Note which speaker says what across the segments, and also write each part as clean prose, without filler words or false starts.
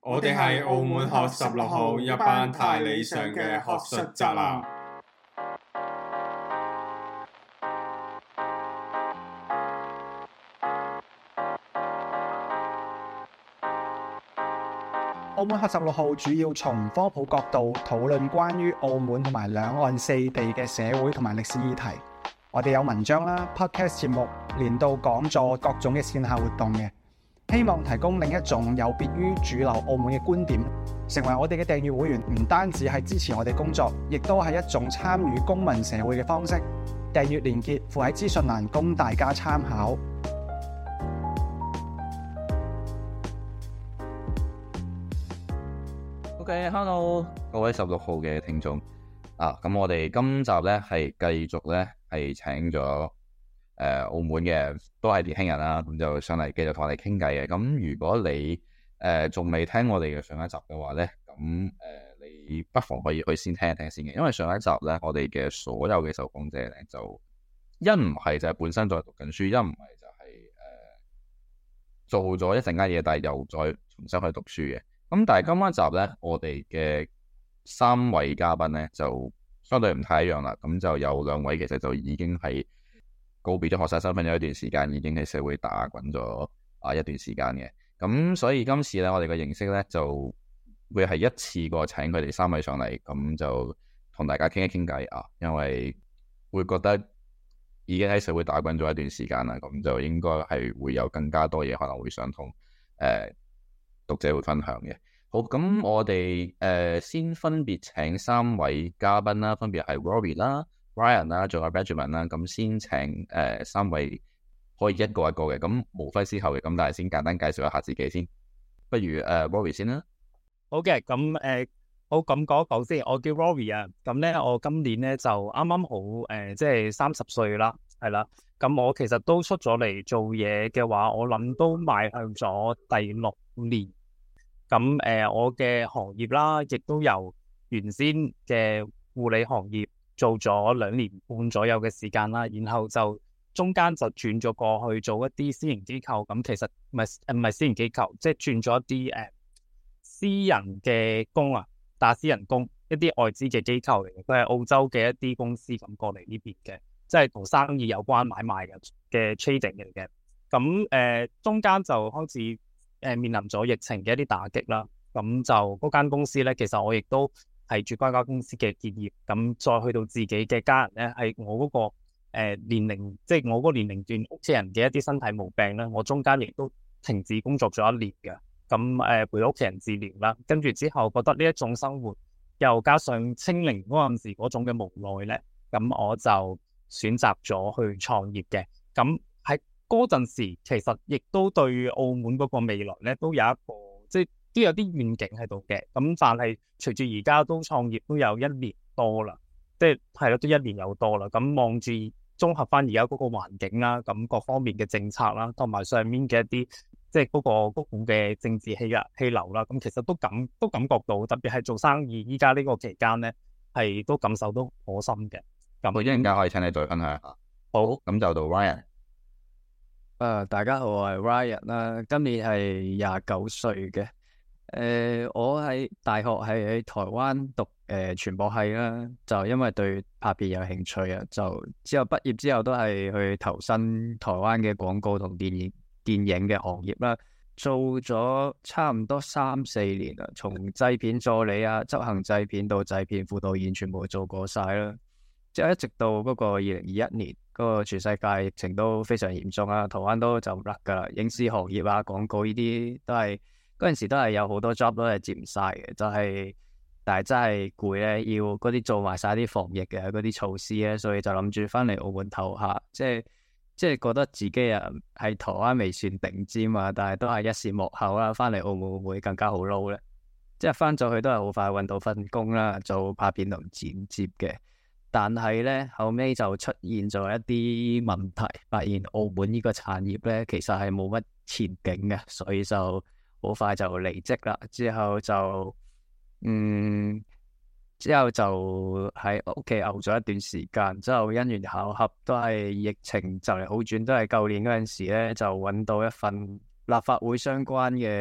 Speaker 1: 我哋係澳門學16號一班太理想嘅學術宅男。
Speaker 2: 澳門學16號主要從科普角度討論關於澳門同埋兩岸四地嘅社會同埋歷史議題。我哋有文章啦、podcast 節目、年度講座、各種嘅線下活動嘅，希望提供另一種有別於主流澳門嘅觀點。成為我哋嘅訂閱會員，唔單止係支持我哋工作，亦都係一種參與公民社會嘅方式。訂閱連結附喺資訊欄，供大家參考。
Speaker 3: OK，Hello，各位16號嘅聽眾咁我哋今集咧係繼續咧係請咗澳門嘅都係年輕人啦，咁就上嚟繼續同我哋傾偈嘅。咁如果你仲未聽我哋嘅上一集嘅話咧，咁你不妨可以去先聽一聽先嘅，因為上一集咧我哋嘅所有嘅受訪者咧就一唔係就係本身在讀緊書，一唔係就係做咗一陣間嘢，但係又再重新去讀書嘅。咁但係今晚集咧，我哋嘅三位嘉賓咧就相對唔太一樣啦。咁就有兩位其實就已經係告別咗學生身份有一段時間，已經喺社會打滾咗一段時間嘅。咁所以今次咧，我哋嘅形式咧就會係一次過請佢哋三位上嚟，咁就同大家傾一傾偈因為會覺得已經喺社會打滾咗一段時間啦，咁就應該係會有更加多嘢可能會想同讀者會分享嘅。好，咁我哋先分別請三位嘉賓啦，分別係 Rory 啦、Ryan 啦，仲有 Benjamin 啦。咁先請三位可以一個一個嘅，咁無揮之後嘅，咁但係先簡單介紹一下自己先。不如Rory 先啦。
Speaker 4: 好嘅，咁好咁講一講先。我叫 Rory 啊，咁咧我今年咧就啱啱好即係30歲啦，係啦。咁我其實都出咗嚟做嘢嘅話，我諗都邁向咗第6年。咁我嘅行業啦，亦都由原先嘅護理行業做咗2年半左右嘅時間啦，然後就中間就轉咗過去做一啲私營機構。咁其實唔係私營機構，即係轉咗一啲私人嘅工打私人工，一啲外資嘅機構嚟嘅，佢係澳洲嘅一啲公司咁過嚟呢邊嘅，即係同生意有關買賣嘅 trading 嚟嘅。咁中間就開始面臨咗疫情嘅一啲打擊啦，咁就嗰間公司咧，其實我亦都係住嗰間公司嘅結業，咁再去到自己嘅家人咧，係我嗰個年齡，即係我嗰個年齡段屋企人嘅一啲身體毛病咧，我中間亦都停止工作咗1年嘅，咁陪屋企人治療啦，跟住之後覺得呢一種生活，又加上清零嗰陣時嗰種嘅無奈咧，咁我就選擇咗去創業嘅，咁喺嗰陣時，其實亦都對澳門嗰個未來咧，都有一個即係都有啲願景喺度嘅。咁但係隨住而家都創業都有1年多啦，即係咯，都1年有多啦。咁望住綜合翻而家嗰個環境啦，咁各方面嘅政策啦，同埋上面嘅一啲即係嗰股嘅政治氣流啦，咁其實都感覺到，特別係做生意依家呢個期間咧，係都感受到好深嘅。咁
Speaker 3: 我一陣間可以請你再分享下。好，咁就到 Ryan。
Speaker 5: 大家好，我係 Ryan 啦，今年係29歲嘅。我喺大學係喺台灣讀傳播系啦，就因為對拍片有興趣啊，就之後畢業之後都係去投身台灣嘅廣告同電影嘅行業啦，做咗差唔多3-4年啦，從製片助理執行製片到製片副導演全部做過晒啦。之後一直到嗰個2021年，嗰個全世界疫情都非常嚴重台灣都就唔甩噶啦，影視行業廣告呢啲都係嗰陣時都係有好多 job 都係接唔晒嘅，但係真係攰咧，要嗰啲做埋晒啲防疫嘅嗰啲措施咧，所以就諗住翻嚟澳門唞下，即係覺得自己喺台灣未算頂尖但係都係一時幕後啦，翻嚟澳門會更加好撈咧，即係翻咗去都係好快搵到份工啦，做拍片同剪接嘅。但係咧後尾就出現咗一啲問題，發現澳門呢個產業咧其實係冇乜前景嘅，所以就好快就離職啦。之後就喺屋企漚咗一段時間，之後因緣巧合都係疫情就嚟好轉，都係舊年嗰陣時咧就揾到一份立法會相關嘅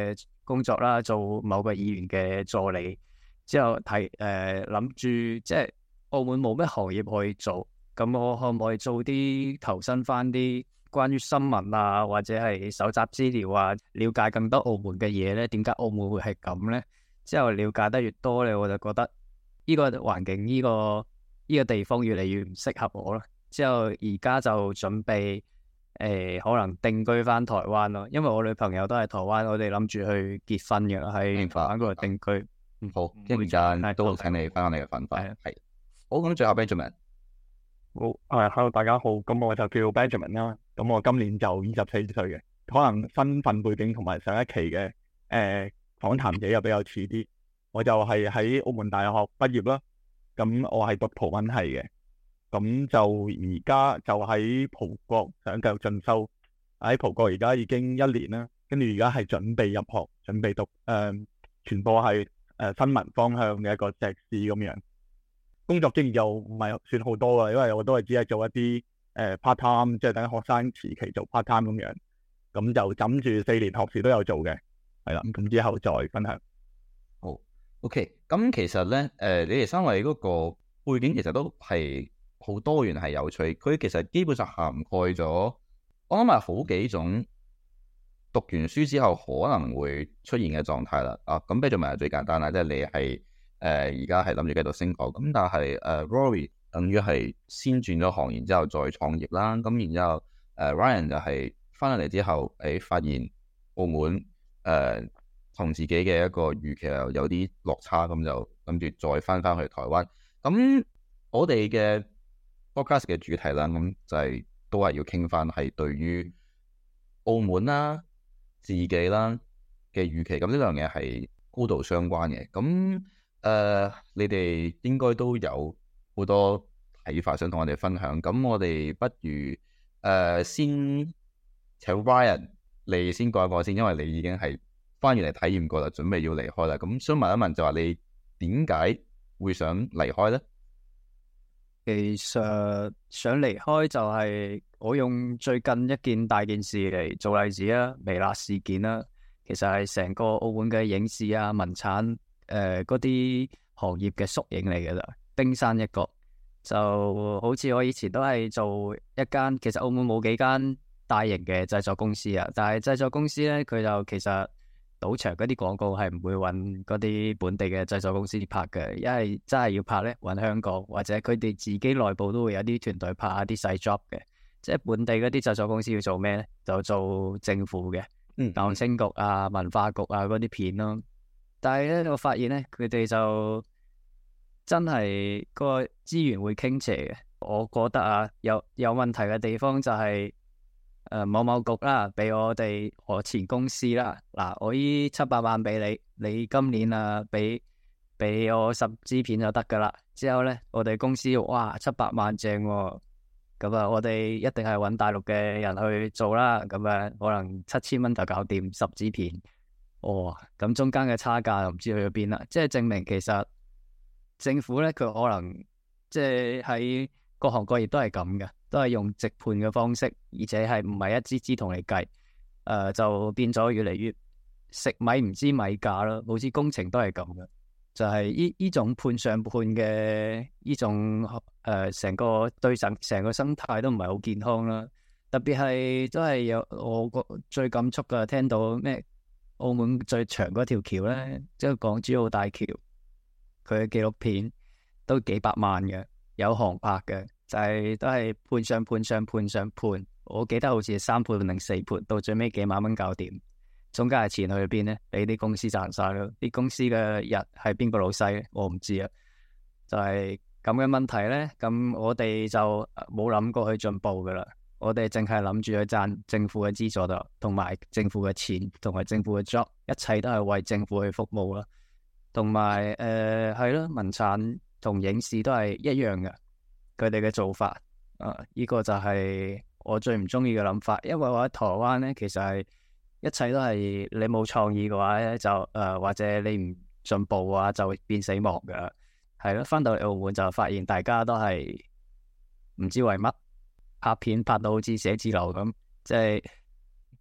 Speaker 5: 工作啦，做某個議員嘅助理，之後諗住即係澳門冇咩行業可以做，咁我可唔可以做啲投身翻啲關於新聞啊，或者係搜集資料啊，了解更多澳門嘅嘢咧？點解澳門會係咁咧？之後了解得越多咧，我就覺得呢個環境呢個地方越嚟越唔適合我啦。之後而家就準備可能定居翻台灣咯，因為我女朋友都係台灣，我哋諗住去結婚嘅喺台灣嗰度定居。
Speaker 3: 好，一陣間都請你分享你嘅分法。係好，咁最後 Benjamin。
Speaker 1: 好，hello 大家好，咁我就叫 Benjamin 啦，咁我今年就24歲嘅，可能身份背景同埋上一期嘅訪談者又比較似啲，我就係喺澳門大學畢業啦，咁我係讀葡文系嘅，咁就而家就喺葡國想繼續進修，喺葡國而家已經1年啦，跟住而家係準備入學，準備讀傳播系新聞方向嘅一個碩士咁樣。工作經驗又唔係算好多啊，因為我都係只係做一啲part time，即係等學生時期做 part time 咁樣，咁就枕住4年學士都有做嘅，係啦，咁之後再分享。
Speaker 3: 好 ，OK， 咁其實咧，你哋3位嗰個背景其實都係好多元，係有趣。佢其實基本上涵蓋咗，我諗係好幾種讀完書之後可能會出現嘅狀態啦。咁Benjamin係最簡單啦，即係你係。而家係諗住繼續升學，咁但係Rory 等於係先轉咗行，然之後再創業啦。咁然之後Ryan 就係翻嚟之後，發現澳門同自己嘅一個預期又有啲落差，咁就諗住再翻去台灣。咁我哋嘅 podcast 嘅主題啦，咁就係都係要傾翻係對於澳門啦、自己啦嘅預期。咁呢兩樣嘢係高度相關嘅。咁你哋應該都有好多睇法想同我哋分享，咁我哋不如先請 Ryan 你先講一講先，因為你已經係翻完嚟體驗過啦，準備要離開啦。咁想問一問就話你點解會想離開呢？
Speaker 5: 其實想離開就係我用最近一件大件事嚟做例子啦，微辣事件啦，其實係成個澳門嘅影視啊、文產嗰啲行業嘅縮影嚟嘅啦，冰山一角。就好似我以前都係做一間，其實澳門冇幾間大型嘅製作公司啊，但係製作公司咧，佢就其實賭場嗰啲廣告係唔會揾嗰啲本地嘅製作公司拍嘅，因為真係要拍咧揾香港，或者佢哋自己內部都會有啲團隊拍下啲細 job 嘅。即係本地嗰啲製作公司要做咩咧？就做政府嘅，鬧聲局啊、文化局啊嗰啲片咯。但係咧，我發現咧，佢哋就真係個資源會傾斜嘅。我覺得啊，有問題嘅地方就係某某局啦，俾我前公司啦，嗱，我依700萬俾你，你今年啊俾我10支片就得噶啦。之後咧，我哋公司哇700萬正喎，咁啊，我哋一定係揾大陸嘅人去做啦。咁啊，可能7000蚊就搞掂10支片。哦，咁中間嘅差價又唔知去咗邊啦，即係證明其實政府咧，佢可能即係喺各行各業都係咁嘅，都係用直判嘅方式，而且係唔係一支支同你計，就變咗越嚟越食米唔知米價啦，好似工程都係咁嘅，就係呢種判上判嘅呢種成個對成個生態都唔係好健康啦，特別係都係有我最感觸嘅，聽到咩？澳門最長嗰條橋咧，即係港珠澳大橋，佢嘅紀錄片都幾百萬嘅，有航拍嘅，就係都係判上判。我記得好似係3判定4判，到最尾幾萬蚊搞掂，中間係錢去邊咧？俾啲公司賺晒咯。啲公司嘅人係邊個老細咧？我唔知啊。就係咁嘅問題咧，咁我哋就冇諗過去進步噶啦。我哋淨係諗住去賺政府嘅資助度，同埋政府嘅錢，同埋政府嘅 job， 一切都係為政府去服務啦。同埋係咯，文產同影視都係一樣嘅，佢哋嘅做法呢個就係我最唔中意嘅諗法。因為我喺台灣咧，其實係一切都係你冇創意嘅話咧，就或者你唔進步嘅話，就會變死亡噶。係咯，翻到嚟澳門就發現大家都係唔知為乜。拍片拍到好似寫字樓咁，即係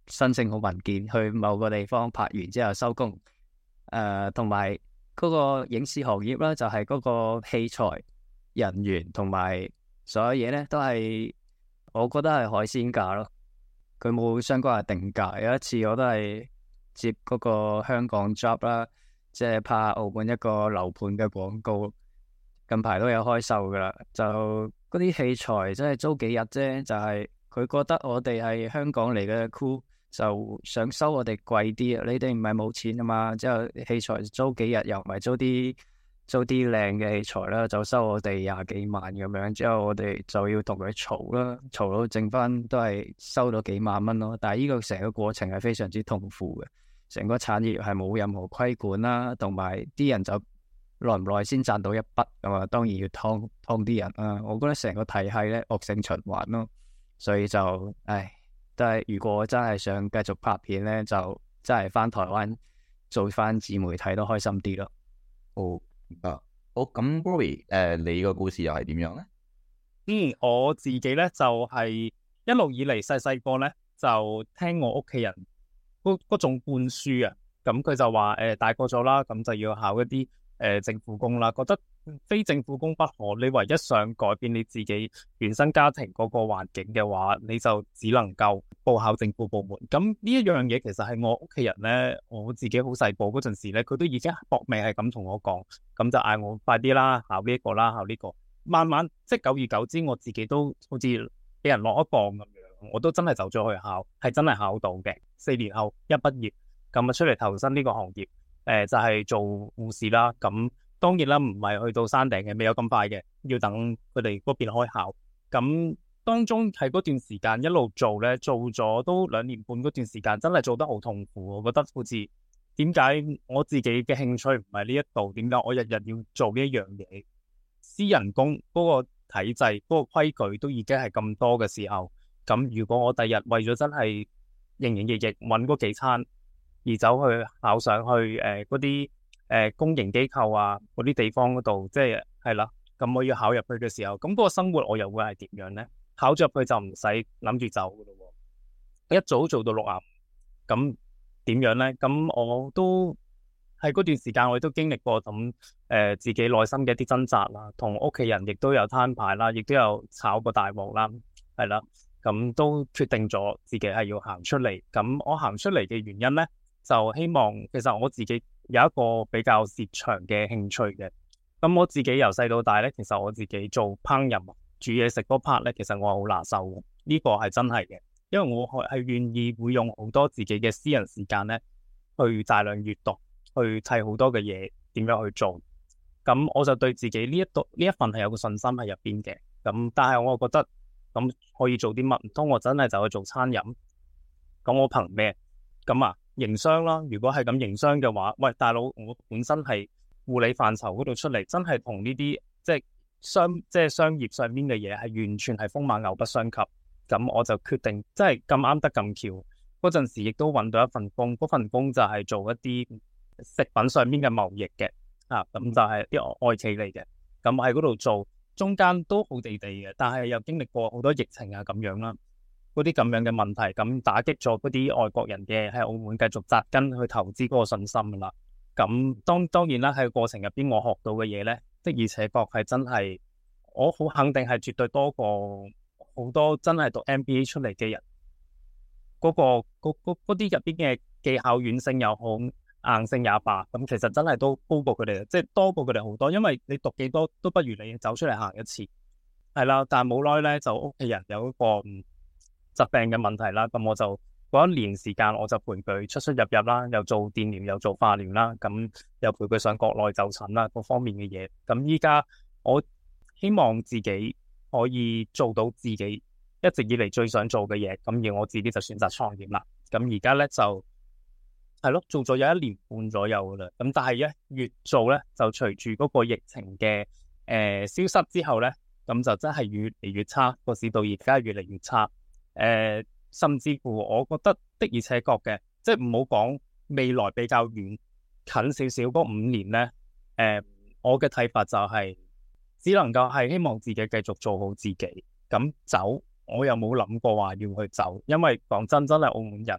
Speaker 5: 申請好文件去某個地方拍完之後收工。同埋嗰個影視行業啦，就係嗰個器材、人員同埋所有嘢咧，都係我覺得係海鮮價咯。佢冇相關嘅定價。有一次我都係接嗰個香港 job 啦，即係拍澳門一個樓盤嘅廣告，近排都有開售噶啦。就嗰啲器材真係租幾日啫，就係佢覺得我哋係香港嚟嘅 crew，就想收我哋貴啲啊！你哋唔係冇錢啊嘛，之後器材租幾日又唔係租啲靚嘅器材啦，就收我哋廿幾萬咁樣，之後我哋就要同佢嘈啦，嘈到剩翻都係收到幾萬蚊咯。但係呢個成個過程係非常之痛苦嘅，成個產業係冇任何規管啦，同埋啲人就耐唔耐先賺到一筆咁啊，當然要劏啲人啦。我覺得成個體系咧惡性循環咯，所以就但係如果我真係想繼續拍片咧，就真係翻台灣做翻自媒體都開心啲咯。
Speaker 3: 好好咁 Rory， 你個故事又係點樣咧？
Speaker 4: 我自己咧就係一路以嚟細個咧就聽我屋企人嗰種灌輸啊，咁佢就話大個咗啦，咁就要考一啲政府工啦，覺得非政府工不可。你唯一想改變你自己原生家庭嗰個環境嘅話，你就只能夠報考政府部門。咁呢一樣嘢其實係我屋企人咧，我自己好細個嗰陣時咧，佢都已經搏命係咁同我講，咁就嗌我快啲啦，考呢一個啦，考呢個。慢慢即係久而久之，我自己都好似俾人落一磅咁樣，我都真係走咗去考，係真係考到嘅。4年後一畢業，咁啊出嚟投身呢個行業。就係做護士啦，咁當然啦，唔係去到山頂嘅，未有咁快嘅，要等佢哋嗰邊開考。咁當中喺嗰段時間一路做咧，做咗都2年半嗰段時間，真係做得好痛苦。我覺得好似點解我自己嘅興趣唔係呢一度，點解我日日要做呢一樣嘢？私人工嗰個體制、嗰個規矩都已經係咁多嘅時候，咁如果我第日為咗真係營營役役揾嗰幾餐，而走去考上去嗰啲公營機構啊，嗰啲地方嗰度，即係啦。咁我要考入去嘅時候，咁嗰個生活我又會係點樣呢？考咗入去就唔使諗住走噶咯喎，一早做到65，咁點樣呢？咁我都喺嗰段時間，我亦都經歷過咁自己內心嘅一啲掙扎啦，同屋企人亦都有攤牌啦，亦都有炒過大鑊啦，係啦。咁都決定咗自己係要行出嚟。咁我行出嚟嘅原因呢，就希望其實我自己有一個比較擅長嘅興趣嘅。咁我自己由細到大咧，其實我自己做烹飪煮嘢食嗰 part 咧，其實我係好拿手嘅。呢個係真係嘅，因為我係願意會用好多自己嘅私人時間咧，去大量閱讀，去砌好多嘅嘢，點樣去做。咁我就對自己呢一份係有個信心喺入邊嘅。咁但係我覺得咁可以做啲乜？唔通我真係就去做餐飲？咁我憑咩？咁啊，營商啦。如果係咁營商嘅話，喂，大佬，我本身係護理範疇嗰度出嚟，真係同呢啲即係商業上面嘅嘢係完全係風馬牛不相及。咁我就決定，即係咁啱得咁巧，嗰陣時亦都揾到一份工，嗰份工就係做一啲食品上面嘅貿易嘅，咁就係啲外企嚟嘅。咁喺嗰度做，中間都好地地嘅，但係又經歷過好多疫情啊咁樣啦，嗰啲咁樣嘅問題，咁打擊咗嗰啲外國人嘅喺澳門繼續紮根去投資嗰個信心啦。咁當然啦，喺過程入邊我學到嘅嘢咧，的而且確係真係，我好肯定係絕對多過好多真係讀 MBA 出嚟嘅人，嗰啲入邊嘅技巧軟性又好，硬性也罷，咁其實真係都高過佢哋，即係多過佢哋好多。因為你讀幾多都不如你走出嚟行一次，係啦。但係冇耐咧，就屋企人有一個疾病嘅問題啦，咁我就嗰1年時間，我就陪佢出出入入啦，又做電療又做化療啦，咁又陪佢上國內就診啦，各方面嘅嘢。咁依家我希望自己可以做到自己一直以嚟最想做嘅嘢，咁而我自己就選擇創業啦。咁而家咧就係咯，做咗有1年半左右啦。咁但係咧越做咧，就隨住嗰個疫情嘅消失之後咧，咁就真係越嚟越差，個市道而家越嚟越差。甚至乎我覺得的而且確嘅，即係唔好講未來比較遠，近少少嗰5年咧，我嘅睇法就係只能夠係希望自己繼續做好自己。咁走我又冇諗過話要去走，因為講真係澳門人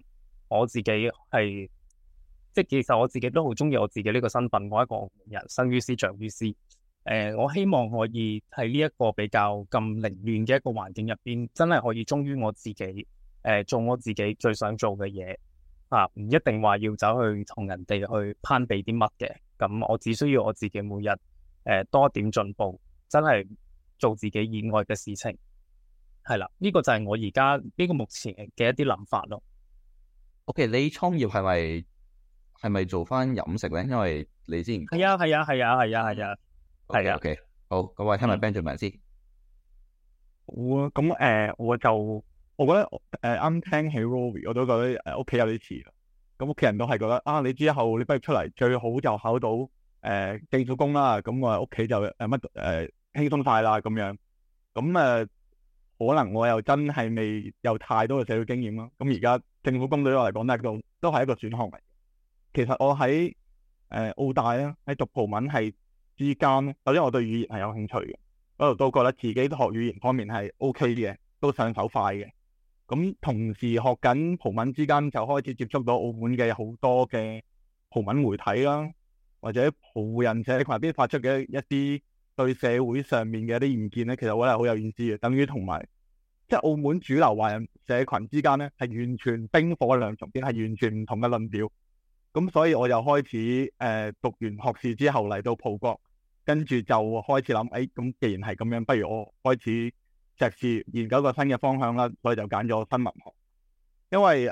Speaker 4: 我自己係即係其實我自己都好中意我自己呢個身份，我一個澳門人，生於斯長於斯。我希望可以喺呢一個比較咁凌亂嘅一個環境入邊，真係可以忠於我自己，做我自己最想做嘅嘢啊，唔一定話要走去同人哋去攀比啲乜嘅。咁我只需要我自己每日多一點進步，真係做自己以外嘅事情，係啦，呢個就係我而家呢個目前嘅一啲諗法咯。
Speaker 3: OK，你創業係咪做翻飲食咧？因為你之前
Speaker 4: 係啊。係啊
Speaker 3: OK，好，咁我聽埋 Benjamin 先。
Speaker 1: 好啊，咁我覺得啱聽起 Rory，我都覺得屋企有啲似啦。咁屋企人都係覺得啊，你之後你畢業出嚟最好就考到政府工啦。咁我屋企就輕鬆晒啦咁樣。咁可能我又真係未有太多嘅社會經驗啦。咁而家政府工對我嚟講都係一個選項嚟。其實我喺澳大咧，喺讀葡文系之間咧，首先我對語言係有興趣嘅，嗰度都覺得自己學語言方面係 OK 嘅，都上手快嘅。咁同時學緊葡文之間，就開始接觸到澳門嘅好多嘅葡文媒體啦，或者葡人社群入邊發出嘅一啲對社會上面嘅一啲意見咧，其實我覺得係好有意思嘅。等於同埋即係澳門主流華人社群之間咧，係完全冰火兩重天，係完全唔同嘅論調。咁所以我就開始讀完學士之後嚟到葡國，跟住就開始諗，咁既然係咁樣，不如我開始碩士研究個新嘅方向啦，所以就揀咗新聞學。因為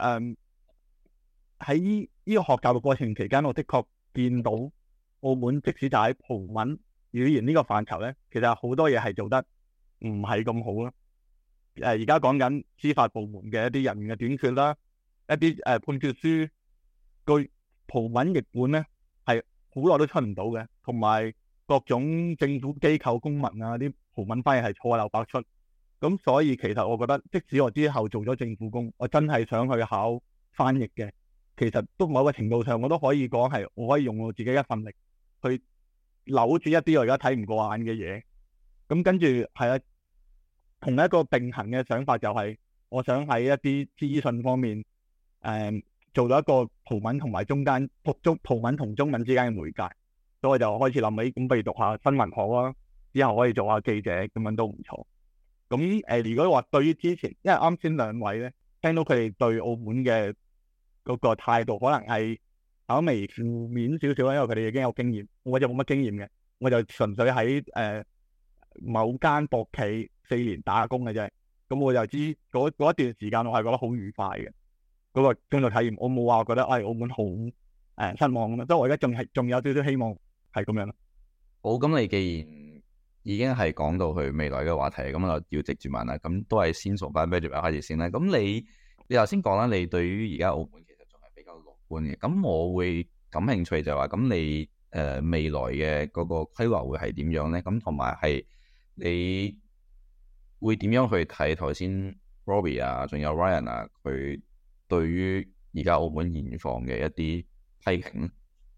Speaker 1: 喺呢個學教嘅過程期間，我的確見到澳門即使就喺葡文語言呢個範疇咧，其實好多嘢係做得唔係咁好咯。而家講緊司法部門嘅一啲人員嘅短缺啦，一啲判決書據葡文譯本咧係好耐都出唔到嘅，同埋各種政府機構公文啊啲葡文翻譯係錯漏百出。咁所以其實我覺得，即使我之後做咗政府工，我真係想去考翻譯嘅，其實都某個程度上我都可以講係我可以用我自己一份力去扭轉一啲我而家睇唔過眼嘅嘢。咁跟住係啊，同一個並行嘅想法就係我想喺一啲資訊方面做到一個葡文同埋中間葡文同中文之間嘅媒介，所以我就開始諗起咁不如讀下新聞學啦，之後可以做下記者，咁樣都唔錯。咁如果話對於之前，因為啱先兩位咧聽到佢哋對澳門嘅嗰個態度可能係稍微負面少少啦，因為佢哋已經有經驗，我就冇乜經驗嘅，我就純粹喺某間博企4年打工嘅啫。咁我就知嗰一段時間我係覺得好愉快嘅嗰個工作體驗，我冇話覺得澳門好失望咁樣，所以我而家仲有少少希望係咁樣咯。
Speaker 3: 好，咁你既然已經係講到佢未來嘅話題，咁我就要直接問啦。咁都係先從翻 Benjamin 開始先啦。咁你頭先講啦，你對於而家澳門其實仲係比較樂觀嘅。咁我會感興趣就係話，咁你未來嘅嗰個規劃會係點樣咧？咁同埋係你會點樣去睇頭先 Rory 啊，仲有 Ryan 啊，佢對於而家澳門現況嘅一啲批評咧？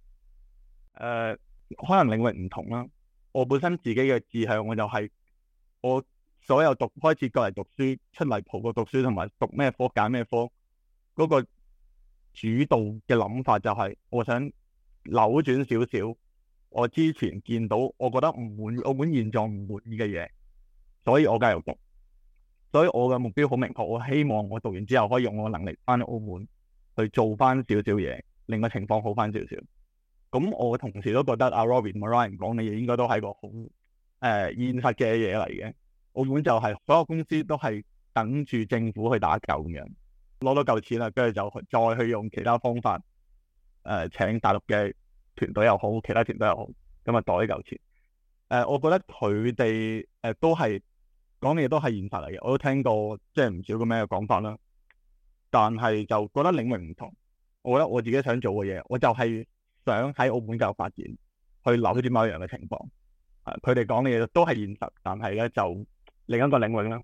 Speaker 1: 可能領域唔同啦。我本身自己嘅志向，我就係我所有開始過嚟讀書，出嚟葡國讀書，同埋讀咩科揀咩科，嗰個主導嘅諗法就係我想扭轉少少我之前見到我覺得唔滿意澳門現狀唔滿意嘅嘢，所以我繼續讀。所以我嘅目標好明確，我希望我讀完之後可以用我嘅能力翻到澳門去做翻少少嘢，令個情況好翻少少。咁我同時都覺得阿 Rory 同 Ryan 講嘅嘢應該都係個好現實嘅嘢嚟嘅。澳門就係所有公司都係等住政府去打救咁樣，攞到嚿錢啦，跟住就再去用其他方法請大陸嘅團隊又好，其他團隊又好，咁啊袋呢嚿錢。我覺得佢哋都係講嘅嘢都係現實嚟嘅，我都聽過即係唔少咁樣嘅講法啦。但係就覺得領域唔同，我覺得我自己想做嘅嘢，我就係想喺澳門繼續發展，去扭轉某一樣嘅情況。佢哋講嘅嘢都係現實，但係咧就另一個領域啦。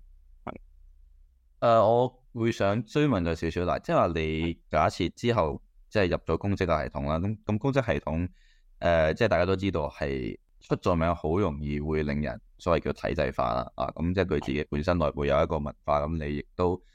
Speaker 3: 我會想追問咗少少啦，即係話你假設之後即係入咗公職嘅系統啦，咁公職系統即係大家都知道係出咗名，好容易會令人所謂叫體制化啦。咁即係佢自己本身內部有一個文化，咁你亦都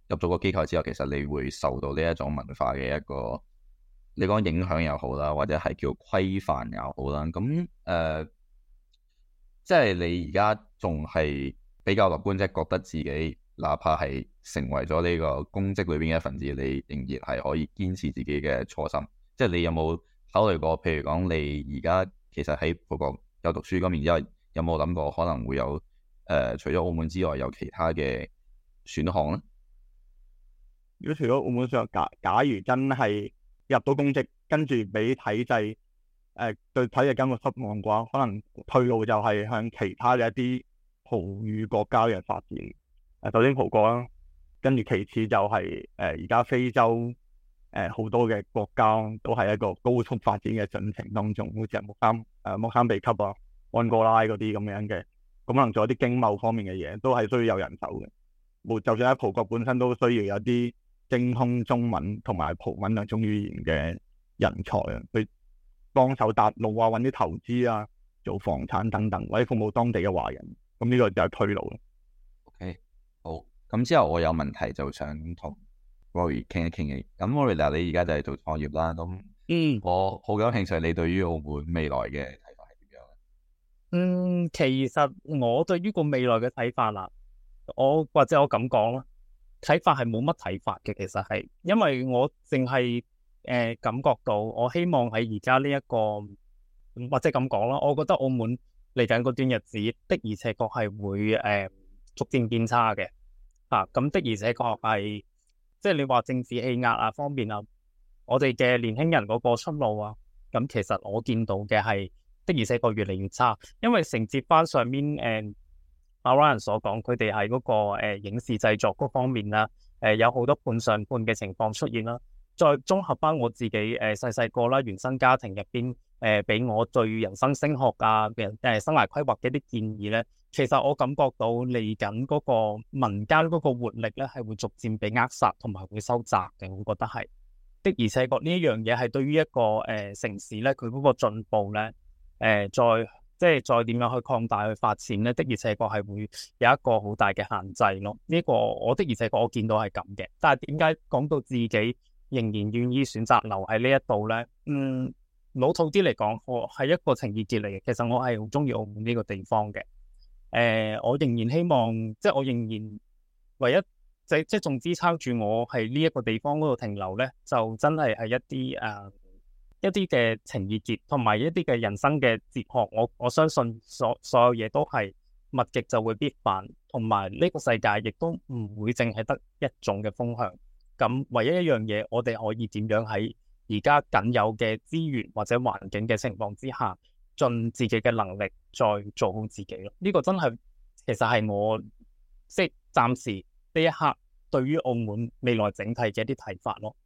Speaker 3: 入咗個機構之後，其實你會受到呢一種文化嘅一個你講影響又好啦，或者係叫規範又好啦。咁即係你而家仲係比較樂觀，即係覺得自己哪怕係成為咗呢個公職裏邊嘅一份子，你仍然係可以堅持自己嘅初心。即係你有冇考慮過？譬如講，你而家其實喺葡國有讀書咁，然之後有冇諗過可能會有除咗澳門之外，有其他嘅選項咧？
Speaker 1: 如果除咗澳門上，假如真係入到公職，跟住俾體制對體制感覺失望嘅話，可能退路就係向其他嘅一啲葡語國家嘅發展。首先葡國啦，跟住其次就係而家非洲好多嘅國家都係一個高速發展嘅進程當中，好似係莫桑比克啊、安哥拉嗰啲咁樣嘅，咁可能做一啲經貿方面嘅嘢，都係需要有人手嘅。就算喺葡國本身都需要有啲精通中文同埋葡文兩種語言嘅人才啊，去幫手搭路啊，揾啲投資啊，做房產等等，或者服務當地嘅華人。咁呢個就係退路啦。
Speaker 3: OK， 好。咁之後我有問題就想同 Rory 傾一傾嘅。咁 Rory 嗱，你而家就係做創業啦。咁我好有興趣，你對於澳門未來嘅睇法係點樣咧？
Speaker 4: 其實我對於個未來嘅睇法啦，或者我咁講啦，睇法係冇乜睇法嘅。其實係因為我淨係感覺到，我希望喺而家呢一個或者咁講啦，我覺得澳門嚟緊嗰段日子的而且確係會逐漸變差嘅。咁的而且確係，即係你話政治氣壓啊方面啊，我哋嘅年輕人嗰個出路啊，咁其實我見到嘅係的而且確越嚟越差，因為承接翻上面阿 Ryan 所講，佢哋喺嗰個影視製作嗰方面啦，有好多判上判嘅情況出現啦。再綜合翻我自己細細個啦，原生家庭入邊俾我對人生升學啊生涯規劃嘅一啲建議咧，其實我感覺到嚟緊嗰個民間嗰個活力咧係會逐漸被扼殺同埋會收窄嘅。我覺得係的，而且確呢一樣嘢係對於一個城市咧，佢嗰個進步咧再點樣去擴大去發展咧，的而且確係會有一個好大嘅限制咯。呢個我的而且確我見到係咁嘅，但係點解講到自己仍然願意選擇留喺呢一度呢？老土啲嚟講，我係一個情意結嚟嘅。其實我係好中意澳門呢個地方嘅。我仍然希望，即係我仍然唯一即係仲支撐住我係呢一個地方嗰度停留呢，就真係一啲嘅情意結，同埋一啲嘅人生嘅哲學。我相信所有嘢都係物極就會必反，同埋呢個世界亦都唔會淨係得一種嘅風向。咁唯一一樣嘢，我哋可以點樣喺而家僅有嘅資源或者環境嘅情況之下，盡自己嘅能力再做好自己咯。呢個真係其實係我即係暫時呢一刻對於澳門未來整體嘅一啲睇法咯。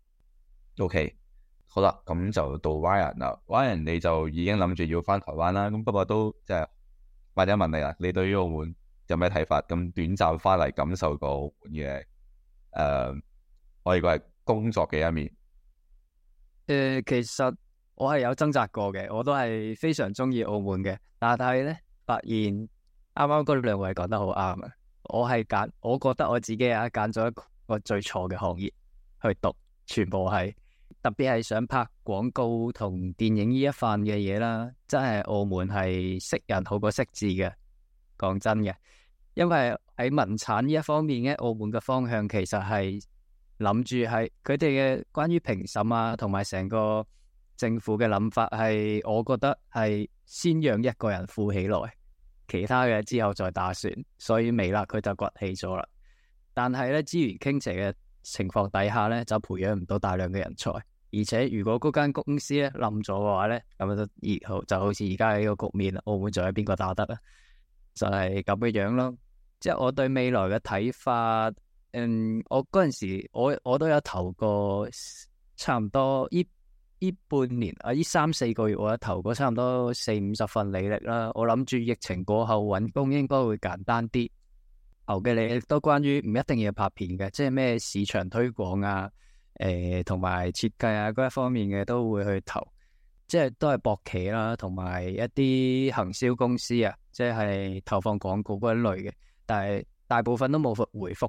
Speaker 3: OK， 好啦，咁就到 Ryan 啦。Ryan 你就已經諗住要翻台灣啦。咁不過都即係或者問你啦，你對於澳門有咩睇法？咁短暫翻嚟感受過澳門嘅可以講係工作嘅一面。
Speaker 5: 其實我係有掙扎過嘅，我都係非常中意澳門嘅，但係咧發現啱啱嗰兩位講得好啱啊！我覺得我自己揀咗一個最錯嘅行業去讀，全部係特別係想拍廣告同電影呢一範嘅嘢啦，真係澳門係識人好過識字嘅，講真嘅，因為喺文產呢一方面咧，澳門嘅方向其實係諗住係佢哋嘅關於評審啊，同埋成個政府嘅諗法係，我覺得係先讓一個人富起來，其他嘅之後再打算。所以微辣佢就崛起咗啦。但係咧資源傾斜嘅情況底下咧，就培養唔到大量嘅人才。而且如果嗰間公司咧冧咗嘅話咧，咁就好似而家呢個局面，澳門仲有邊個打得啊？就係咁嘅樣咯。即係我對未來嘅睇法。我嗰陣時我都有投過，差唔多呢半年啊，呢3-4個月我有投過差唔多40-50份履歷啦。我諗住疫情過後揾工應該會簡單啲。投嘅履歷都關於唔一定要拍片嘅，即係咩市場推廣啊，同埋設計啊嗰一方面嘅都會去投，即係都係博企啦，同埋一啲行銷公司啊，即係投放廣告嗰一類嘅，但係大部分都冇回覆嘅。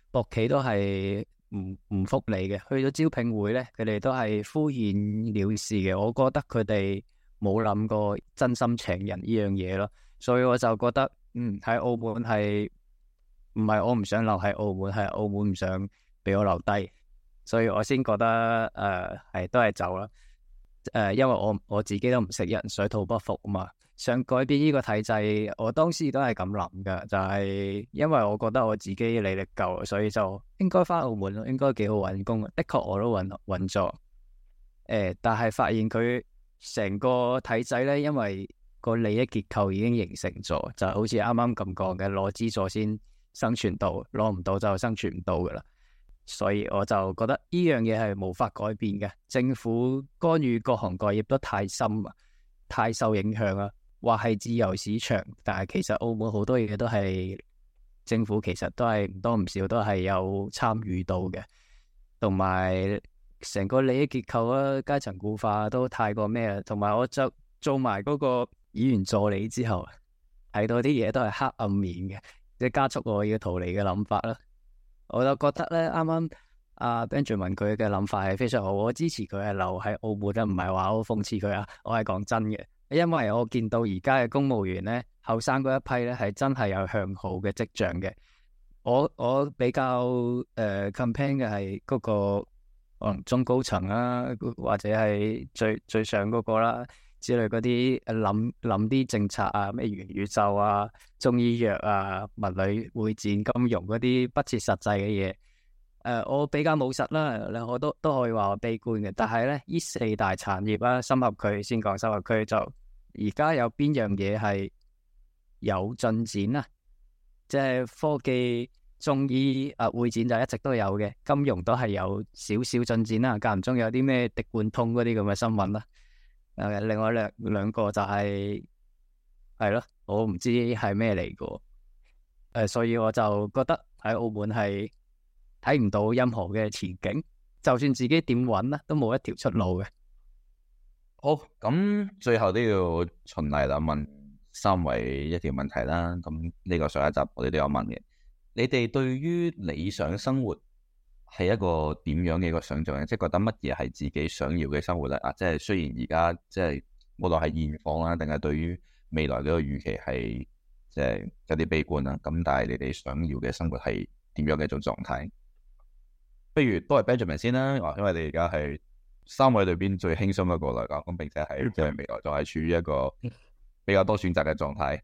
Speaker 5: 博企都係唔復你嘅，去咗招聘會咧，佢哋都係敷衍了事嘅。我覺得佢哋冇諗過真心請人呢樣嘢咯，所以我就覺得喺澳門係唔係我唔想留喺澳門，係澳門唔想俾我留低，所以我先覺得都係走啦。因為我自己都唔識人，水土不服啊嘛，想改變呢個體制，我當時都係咁諗噶，就係因為我覺得我自己履歷夠，所以就應該翻澳門咯，應該幾好揾工。的確我都揾咗，但係發現佢成個體制咧，因為個利益結構已經形成咗，就好似啱啱咁講嘅，攞資助先生存到，攞唔到就生存唔到噶啦。所以我就覺得呢樣嘢係無法改變嘅，政府干預各行各業都太深啊，太受影響啦。話係自由市場，但係其實澳門好多嘢都係政府其實都係唔多唔少都係有參與到嘅，同埋成個利益結構啊、階層固化都太過咩啦。同埋我就做埋嗰個議員助理之後，睇到啲嘢都係黑暗面嘅，即係加速我要逃離嘅諗法啦。我就覺得咧，啱啱阿 Benjamin 佢嘅諗法係非常好，我支持佢係留喺澳門啦，唔係話我諷刺佢啊，我係講真嘅，因為我見到而家嘅公務員咧，後生嗰一批咧係真係有向好嘅跡象嘅。我比較campaign 嘅係嗰個可能中高層啦，或者係最上嗰個啦之類嗰啲諗啲政策啊，咩元宇宙啊、中醫藥啊、文旅會展、金融嗰啲不切實際嘅嘢。我比較務實啦，我都可以話我悲觀嘅。但係咧，呢四大產業啦，深合區先講深合區，就而家有邊樣嘢係有進展啊？即係科技、中醫會展就一直都有嘅，金融都係有少少進展啦。間唔中有啲咩滴灌通嗰啲咁嘅新聞啦。另外兩個就係咯，我唔知係咩嚟嘅。所以我就覺得喺澳門係睇唔到任何嘅前景，就算自己點揾啦，都冇一條出路嘅。
Speaker 3: 好，咁最後都要循例啦，問三位一條問題啦。咁呢個上一集我哋都有問嘅，你哋對於理想生活係一個點樣嘅一個想象咧？即係覺得乜嘢係自己想要嘅生活咧？即係雖然而家即係無論係現況啦，定係對於未來呢個預期係即係有啲悲觀啦。咁但係你哋想要嘅生活係點樣嘅一種狀態？不如都係 Benjamin 先啦，因為你而家係三位裏邊最輕鬆一個嚟講，咁並且係即係未來就係處於一個比較多選擇嘅狀態。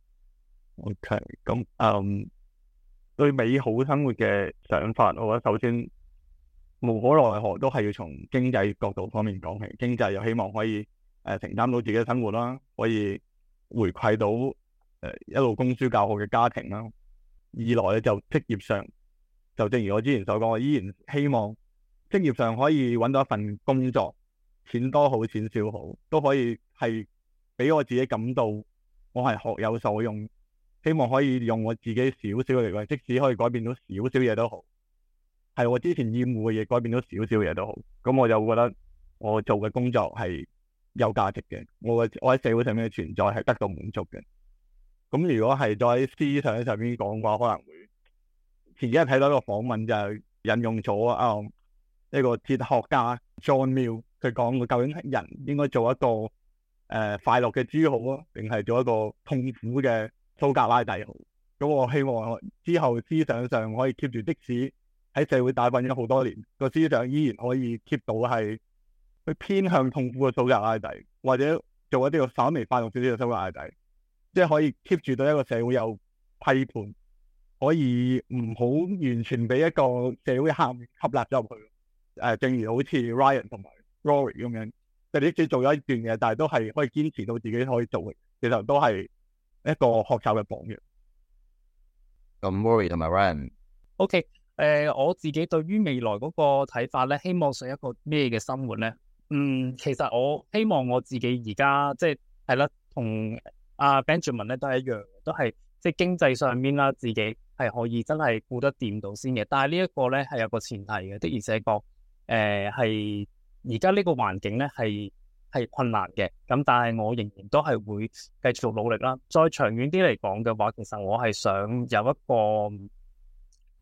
Speaker 1: OK，咁對美好生活嘅想法，我覺得首先無可奈何都係要從經濟角度方面講起。經濟又希望可以承擔到自己嘅生活啦，可以回饋到一路供書教學嘅家庭啦。二來咧就職業上，就正如我之前所講，我依然希望職業上可以揾到一份工作，錢多好錢少好，都可以係俾我自己感到我係學有所用。希望可以用我自己少少嘅力量，即使可以改變到少少嘢都好，係我之前厭惡嘅嘢改變到少少嘢都好，咁我就覺得我做嘅工作係有價值嘅，我喺社會上面嘅存在係得到滿足嘅。咁如果係再喺思想上面講嘅話，可能會前幾日睇到一個訪問，就係引用咗一個哲學家 John Mill， 佢講究竟人應該做一個快樂嘅豬好啊，定係做一個痛苦嘅蘇格拉底好？咁我希望之後思想上可以 keep 住，即使喺社會打滾咗好多年，個思想依然可以 keep 到係去偏向痛苦嘅蘇格拉底，或者做一啲稍微快樂少少嘅蘇格拉底，即係可以 keep 住到一個社會有批判，可以唔好完全俾一個社會吸納咗入去。正如好似 Ryan 同埋 Rory 咁樣，即係你即使做咗一段嘢，但係都係可以堅持到自己可以做嘅，其實都係一個學習嘅榜樣。
Speaker 3: 咁 Rory 同埋 Ryan，OK，
Speaker 4: 我自己對於未來嗰個睇法咧，希望上一個咩嘅生活咧？其實我希望我自己而家即係啦，同阿 Benjamin 咧都係一樣，都係即係經濟上面啦，自己係可以真係顧得掂到先嘅。但係呢一個咧係有個前提嘅，的而且確係而家呢個環境咧係困難嘅。咁但係我仍然都係會繼續努力啦。再長遠啲嚟講嘅話，其實我係想有一個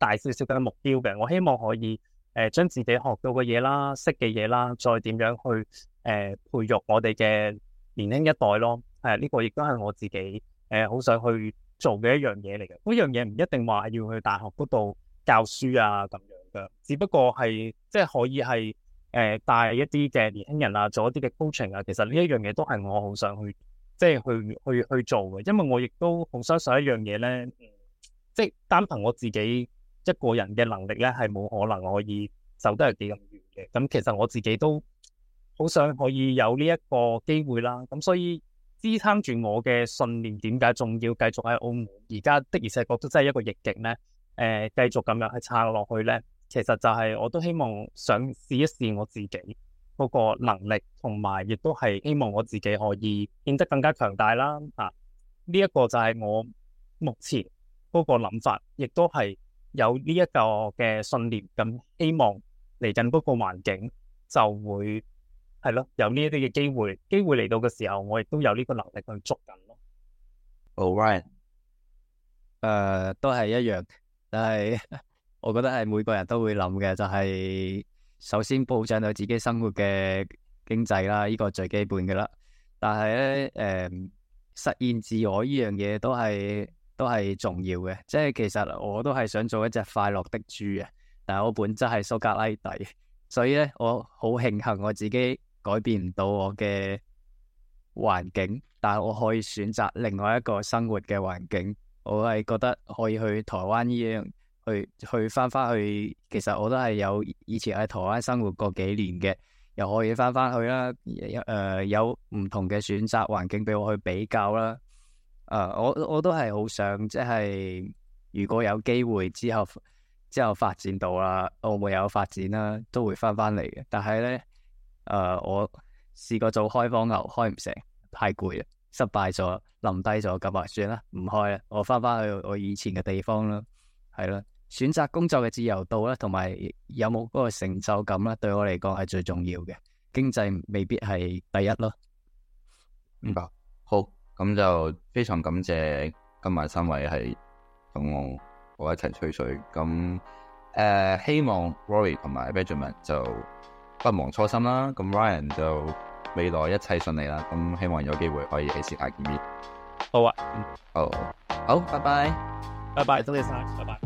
Speaker 4: 大少少嘅目標嘅。我希望可以將自己學到嘅嘢啦、識嘅嘢啦，再點樣去培育我哋嘅年輕一代咯。呢個亦都係我自己好想去做嘅一樣嘢嚟嘅。嗰樣嘢唔一定話要去大學嗰度教書啊咁樣嘅，只不過係即係可以係帶一啲嘅年輕人啊，做一啲嘅 coaching 啊。其實呢一樣嘢都係我好想去即係去做嘅，因為我亦都好相信一樣嘢咧，即係單憑我自己一個人嘅能力咧，係冇可能可以走得係幾咁遠嘅。咁其實我自己都好想可以有呢一個機會啦。咁所以支撐住我嘅信念，點解仲要繼續喺澳門？而家的而且確都真係一個逆境咧，繼續咁樣去撐落去咧，其實就係我都希望想試一試我自己嗰個能力，同埋亦都係希望我自己可以變得更加強大啦。呢一個就係我目前嗰個諗法，亦都係有呢一個嘅信念。咁希望嚟緊嗰個環境就會係咯，有呢一啲嘅機會嚟到嘅時候，我亦都有呢個能力去捉緊咯。
Speaker 3: Ryan，
Speaker 5: 都係一樣，但係我覺得係每個人都會諗嘅，就係首先保障到自己生活嘅經濟啦，呢個最基本嘅啦。但係咧，實現自我呢樣嘢都係重要嘅。即係其實我都係想做一隻快樂的豬啊，但係我本質係蘇格拉底，所以咧我好慶幸我自己改變唔到我嘅環境，但係我可以選擇另外一個生活嘅環境。我係覺得可以去台灣呢樣。去翻去，其實我都係有以前喺台灣生活過幾年嘅，又可以翻去啦。有唔同嘅選擇環境俾我去比較啦。我都係好想，即係如果有機會之後發展到啦，澳門有發展啦，都會翻嚟嘅。但係咧，我試過做開荒牛，開唔成，太攰啦，失敗咗，冧低咗，咁啊算啦，唔開啦，我翻去我以前嘅地方啦，係啦。選擇工作嘅自由度啦，同埋有冇嗰個成就感啦，對我嚟講係最重要嘅。經濟未必係第一咯。
Speaker 3: 明白。好，咁就非常感謝今晚3位係同我一齊吹水。咁希望 Rory 同埋 Benjamin 就不忘初心啦。咁 Ryan 就未來一切順利啦。咁希望有機會可以喺線下見面。
Speaker 4: 好啊，
Speaker 3: 好，拜拜，
Speaker 4: 拜拜，多謝晒，拜拜。